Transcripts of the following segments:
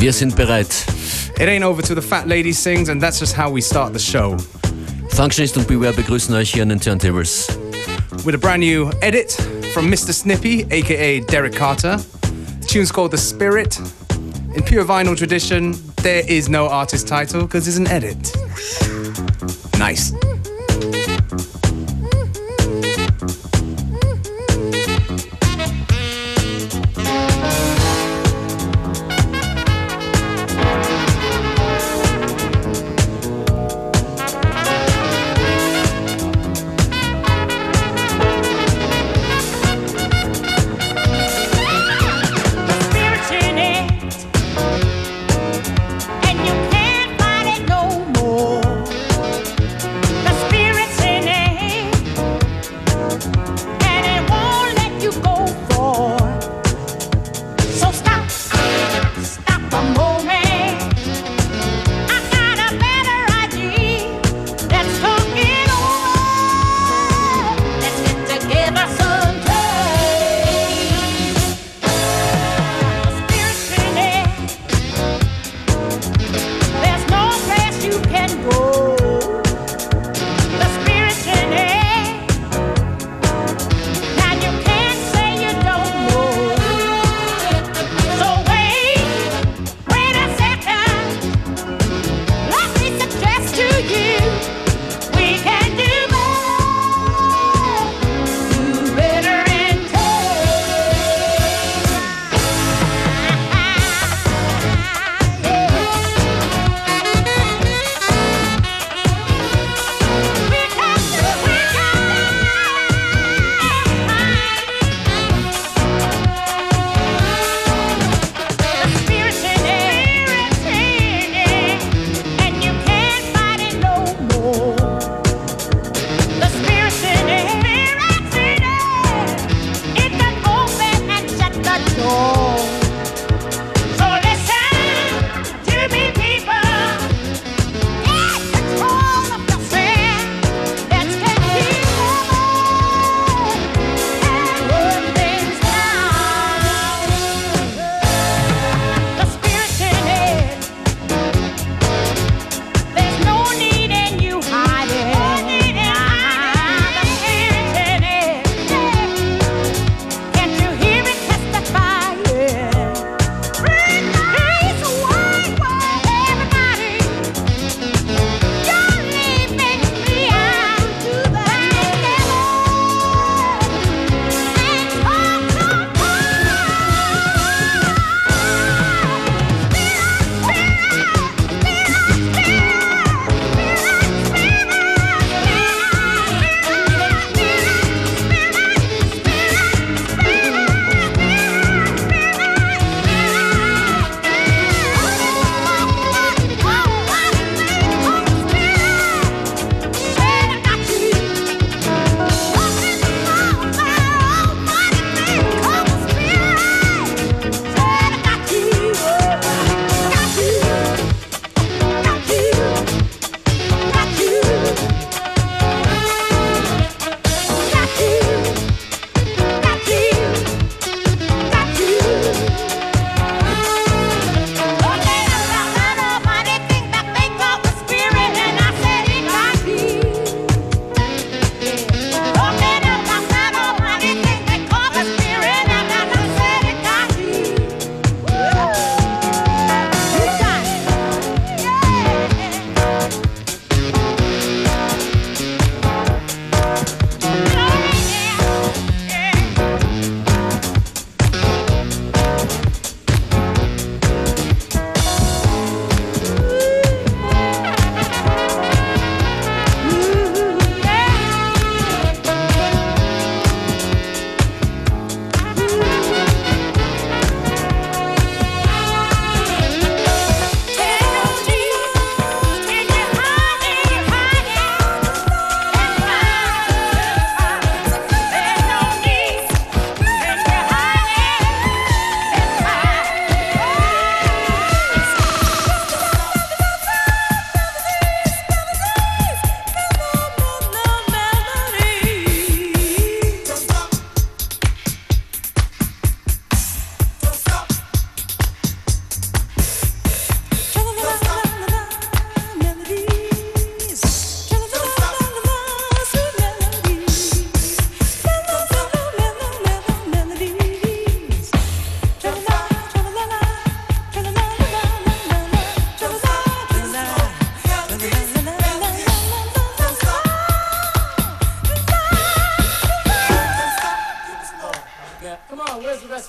Wir sind bereit. It ain't over till the fat lady sings, and that's just how we start the show. Functionist und Beware begrüßen euch hier an den Turntables. With a brand new edit from Mr. Snippy, aka Derek Carter. The tune's called The Spirit. In pure vinyl tradition, there is no artist title because it's an edit. Nice. And you can't fight it no more. The spirit's in it.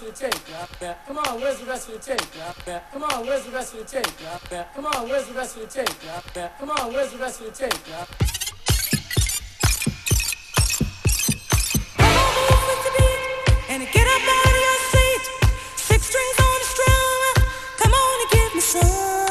your tape? Yeah. Come on, where's the rest of your tape? Yeah. Come on, where's the rest of your tape? Yeah. Come on, where's the rest of your tape? Yeah. Come on, where's the rest of your tape? Yeah. And get up out of your seat. 6 strings on the string. Come on and give me some.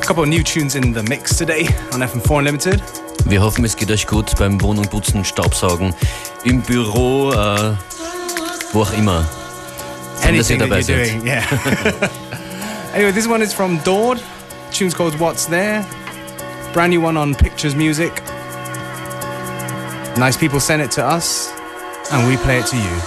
couple of new tunes in the mix today on FM4 Unlimited. Wir hoffen, es geht euch gut beim Wohnung putzen, Staubsaugen, im Büro, wo auch immer. Schön, dass ihr Anything that dabei you're seid. doing, yeah. Anyway, this one is from Dord. Tune's called What's There. Brand new one on Pictures Music. Nice people sent it to us, and we play it to you.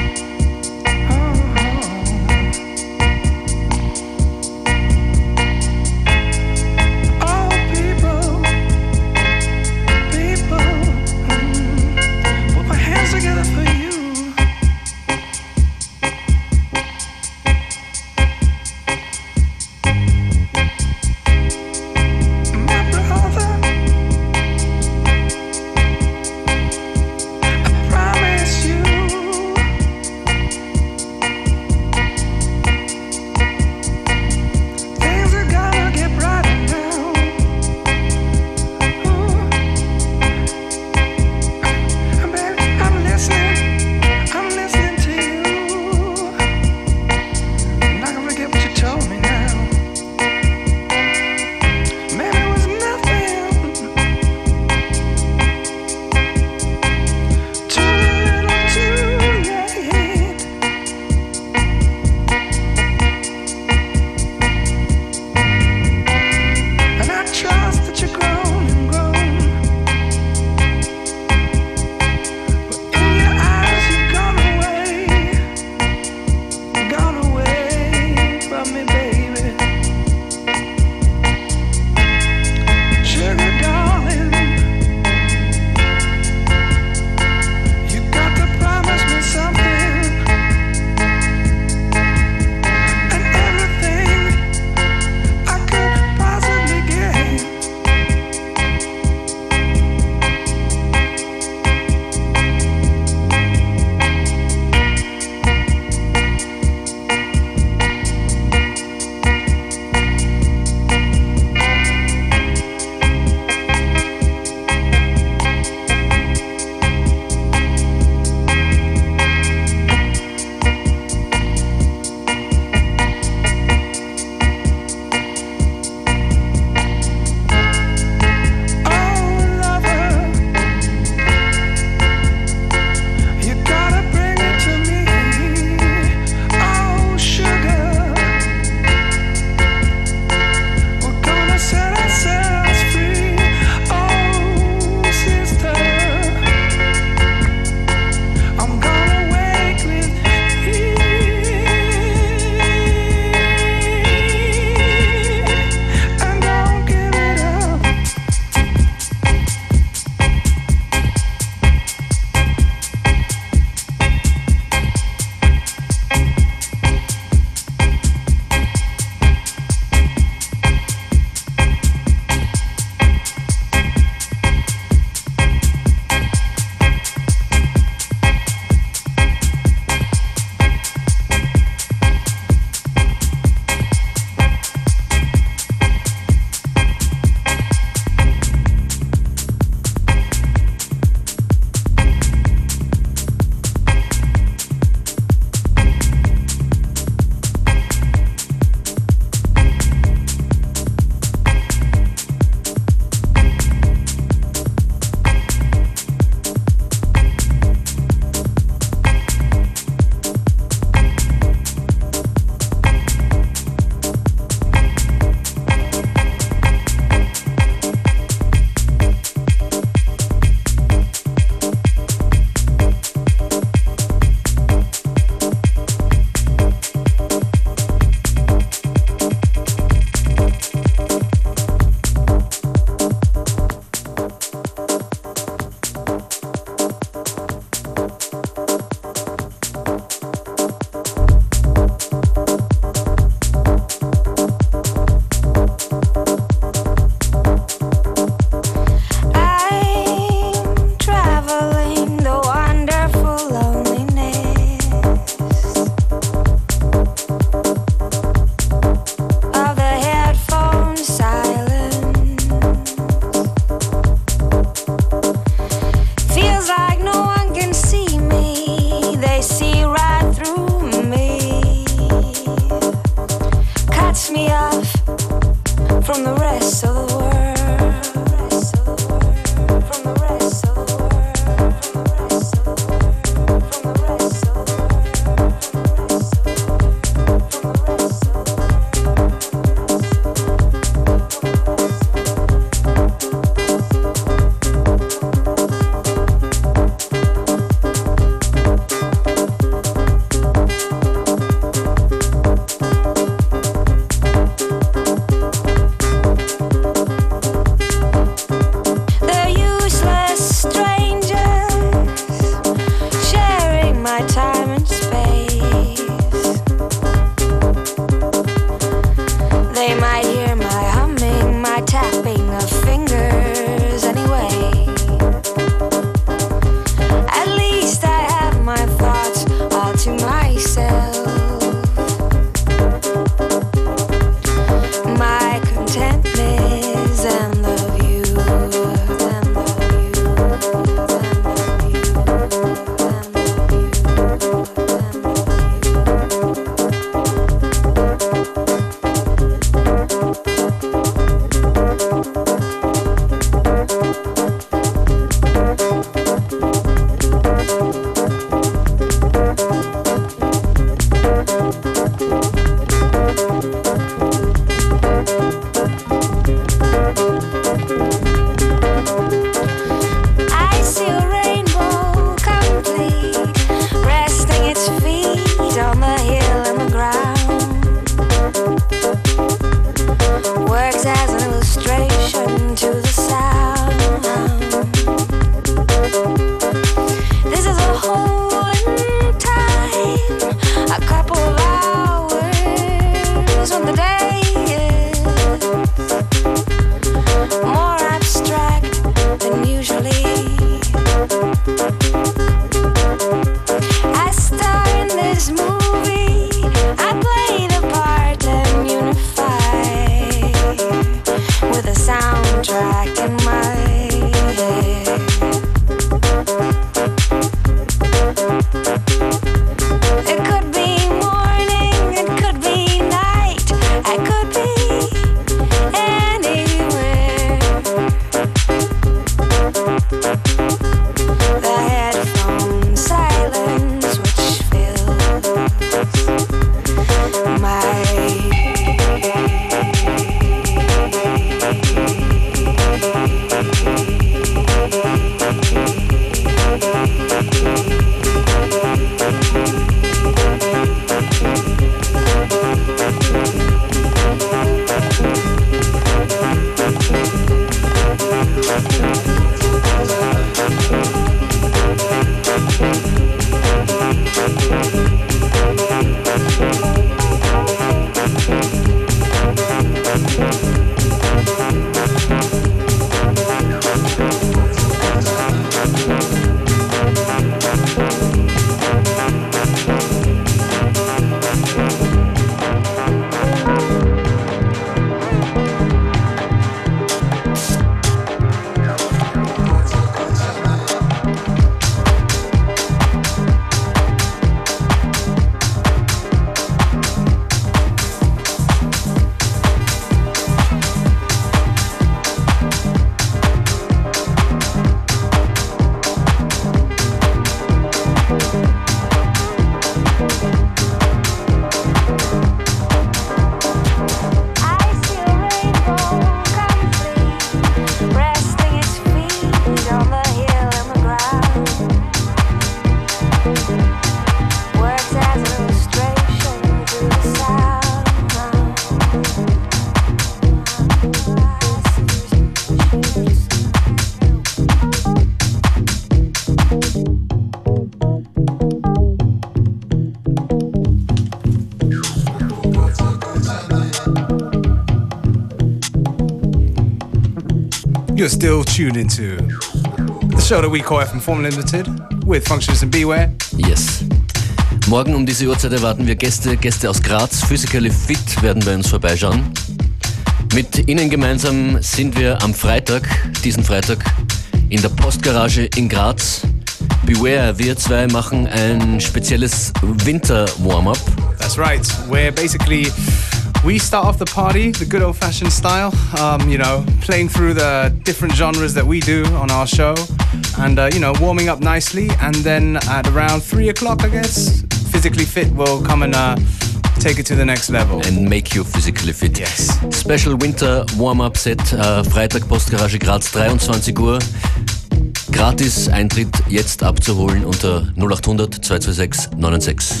You're still tuned into the show that we call FM Form Limited with Functionist and Beware. Yes. Morgen um diese Uhrzeit erwarten wir Gäste aus Graz. Physically Fit werden bei uns vorbeischauen. Mit ihnen gemeinsam sind wir am Freitag, diesen Freitag, in der Postgarage in Graz. Beware, wir zwei machen ein spezielles Winter-Warm-up. That's right. Where basically we start off the party the good old-fashioned style, playing through the different genres that we do on our show and, warming up nicely. And then at around 3 o'clock, I guess, Physically Fit will come and take it to the next level. And make you physically fit. Yes. Special Winter Warm-Up Set, Freitag Postgarage Graz, 23 Uhr. Gratis Eintritt jetzt abzuholen unter 0800 226 996.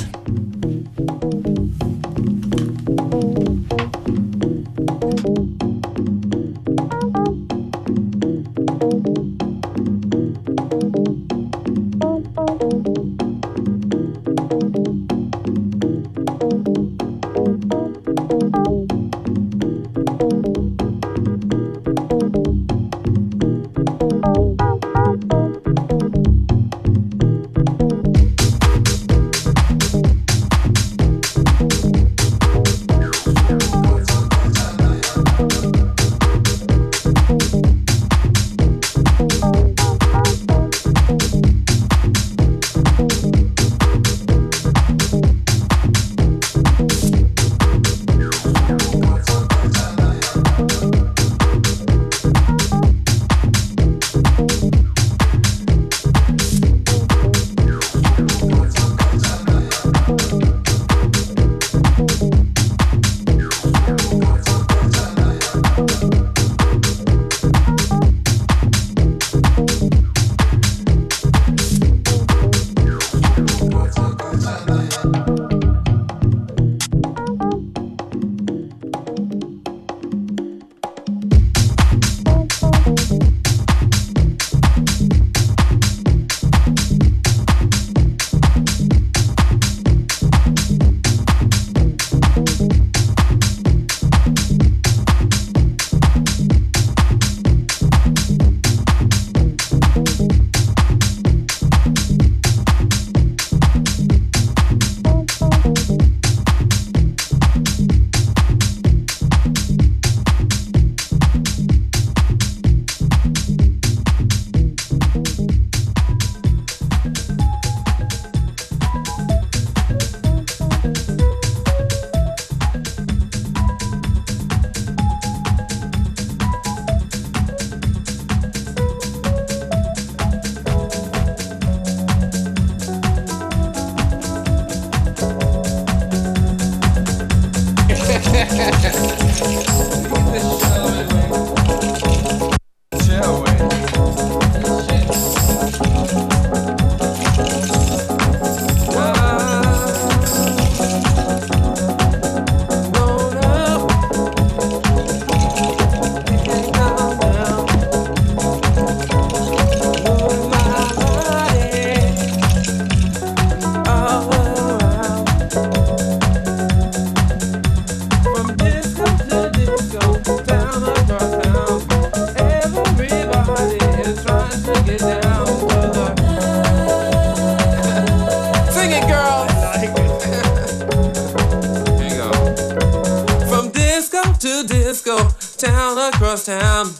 Town,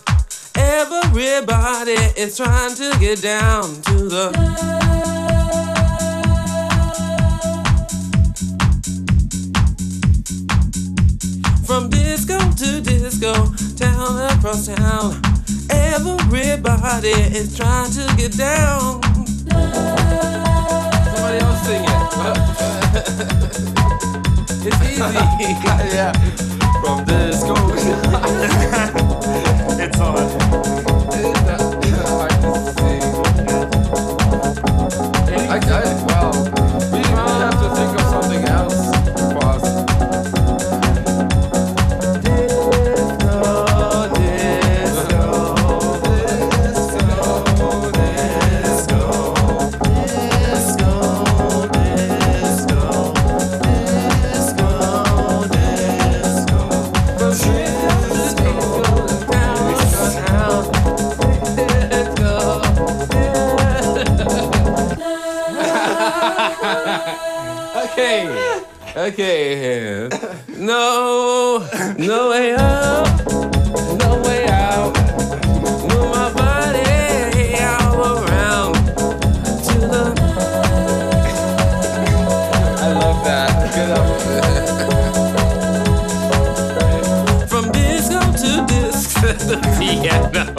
everybody is trying to get down to the from disco to disco, town across town, everybody is trying to get down. Somebody else sing it. It's easy. Yeah. From disco. It's on. Well, we have to think of something else for us. From Okay. No way out. No way out. Move my body all around to the. I love that. Good up. From disco to disco to the piano.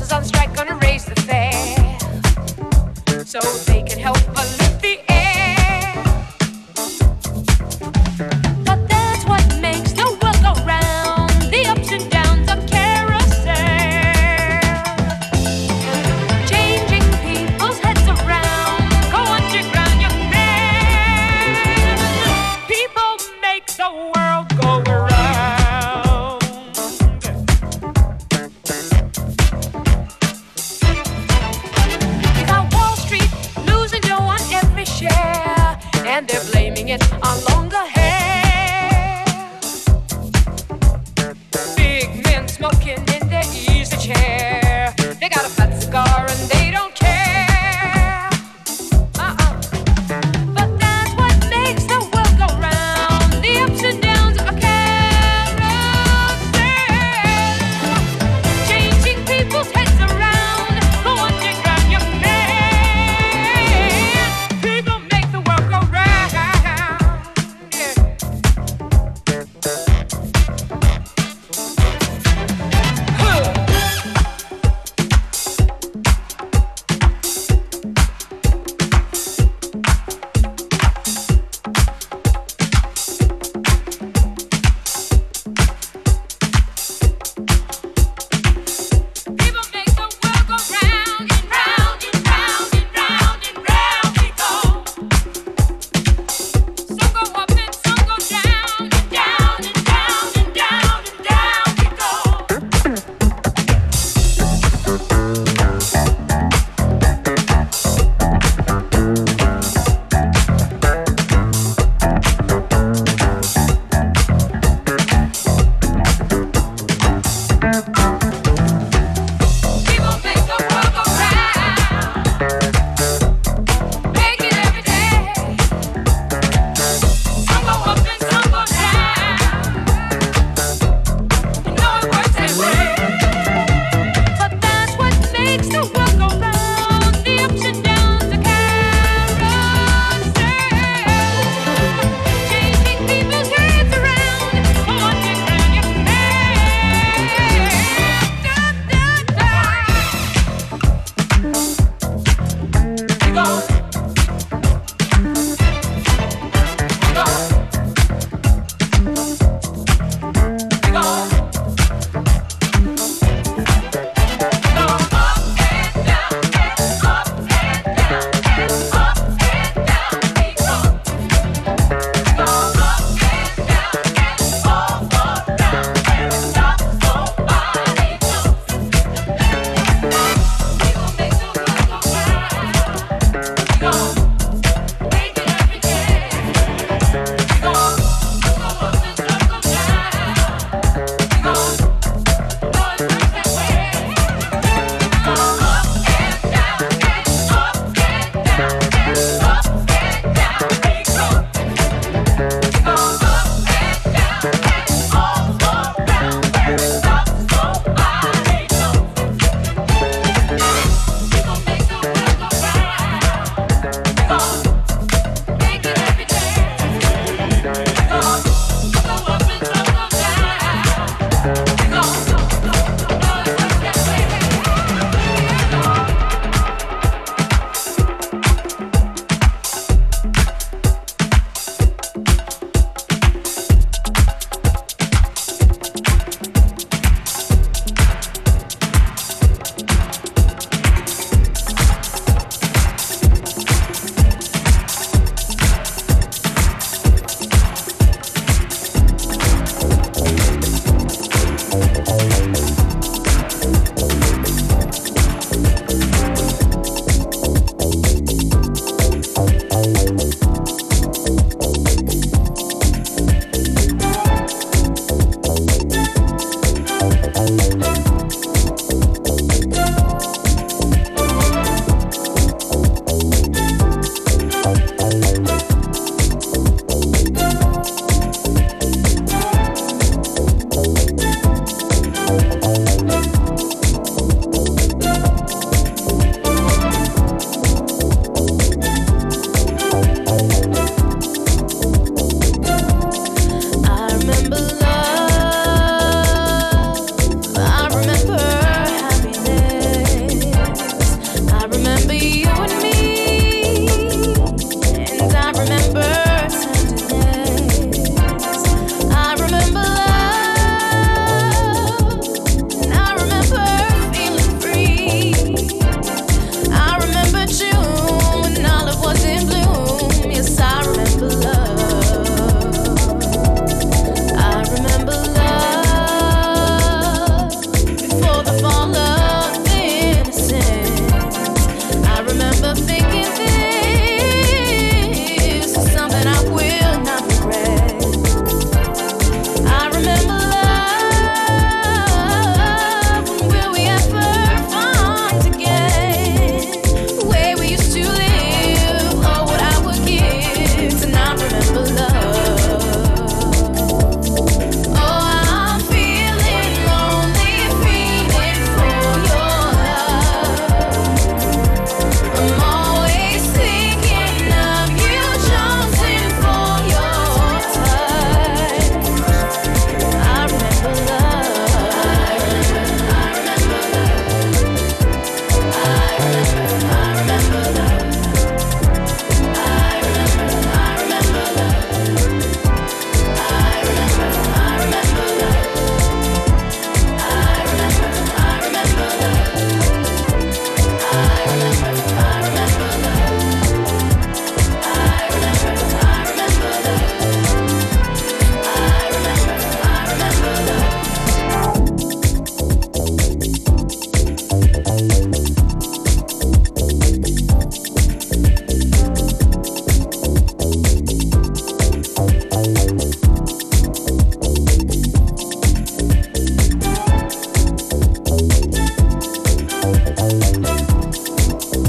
buses on strike gonna raise the fare so they can help pollute the air. But that's what makes the world go round, the ups and downs of carousel, changing people's heads around. Go underground, young man. People make the world go around. And they're blaming it on longer hair. Big men smoking in their easy chair. They got a fat cigar and they don't care. But that's what makes the world go round, the ups and downs of a carousel, changing people's heads around. Go underground, young man. People make the world go round.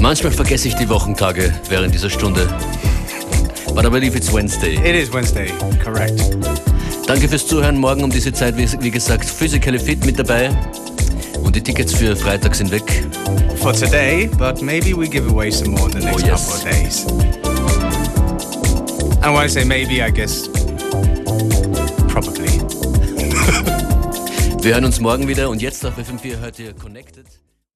Manchmal vergesse ich die Wochentage während dieser Stunde. But I believe it's Wednesday. It is Wednesday, correct. Danke fürs Zuhören. Morgen um diese Zeit, wie gesagt, Physically Fit mit dabei. Und die Tickets für Freitag sind weg. For today, but maybe we give away some more in the next couple of days. And when I say maybe, I guess probably. Wir hören uns morgen wieder und jetzt auf FM4 hört ihr Connected.